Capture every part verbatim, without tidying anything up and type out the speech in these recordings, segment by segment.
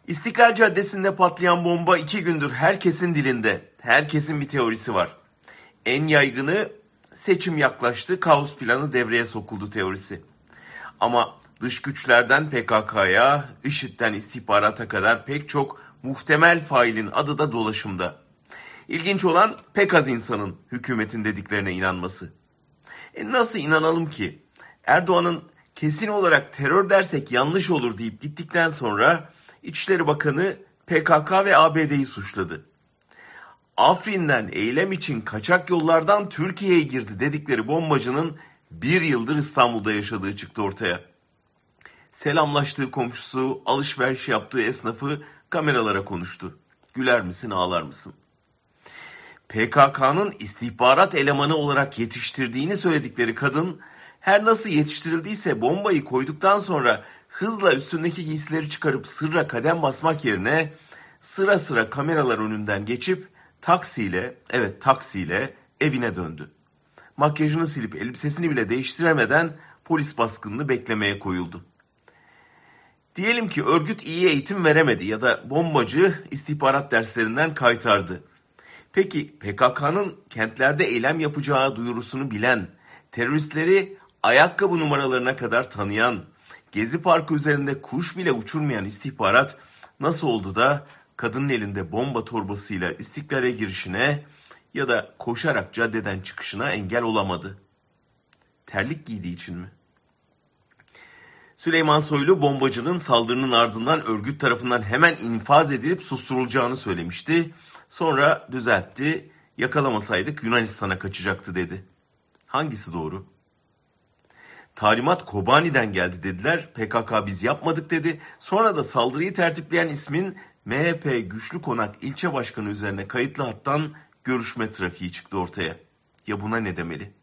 İstiklal Caddesi'nde patlayan bomba iki gündür herkesin dilinde. Herkesin bir teorisi var. En yaygını seçim yaklaştı, kaos planı devreye sokuldu teorisi. Ama dış güçlerden P K K'ya, IŞİD'den istihbarata kadar pek çok muhtemel failin adı da dolaşımda. İlginç olan pek az insanın hükümetin dediklerine inanması. E nasıl inanalım ki? Erdoğan'ın kesin olarak terör dersek yanlış olur deyip gittikten sonra İçişleri Bakanı P K K ve A B D'yi suçladı. Afrin'den eylem için kaçak yollardan Türkiye'ye girdi dedikleri bombacının bir yıldır İstanbul'da yaşadığı çıktı ortaya. Selamlaştığı komşusu, alışveriş yaptığı esnafı kameralara konuştu. Güler misin, ağlar mısın? P K K'nın istihbarat elemanı olarak yetiştirdiğini söyledikleri kadın, her nasıl yetiştirildiyse bombayı koyduktan sonra hızla üstündeki giysileri çıkarıp sırra kadem basmak yerine sıra sıra kameralar önünden geçip taksiyle, evet taksiyle evine döndü. Makyajını silip elbisesini bile değiştiremeden polis baskınını beklemeye koyuldu. Diyelim ki örgüt iyi eğitim veremedi ya da bombacı istihbarat derslerinden kaytardı. Peki P K K'nın kentlerde eylem yapacağı duyurusunu bilen, teröristleri ayakkabı numaralarına kadar tanıyan, Gezi Parkı üzerinde kuş bile uçurmayan istihbarat nasıl oldu da kadının elinde bomba torbasıyla İstiklal'e girişine ya da koşarak caddeden çıkışına engel olamadı? Terlik giydiği için mi? Süleyman Soylu bombacının saldırının ardından örgüt tarafından hemen infaz edilip susturulacağını söylemişti. Sonra düzeltti, yakalamasaydık Yunanistan'a kaçacaktı dedi. Hangisi doğru? Talimat Kobani'den geldi dediler, P K K biz yapmadık dedi. Sonra da saldırıyı tertipleyen ismin M H P Güçlü Konak ilçe başkanı üzerine kayıtlı hattan görüşme trafiği çıktı ortaya. Ya buna ne demeli?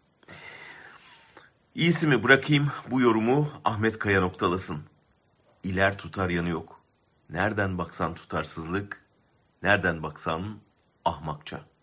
İyisi mi bırakayım bu yorumu Ahmet Kaya noktalasın. İler tutar yanı yok. Nereden baksan tutarsızlık, nereden baksan ahmakça.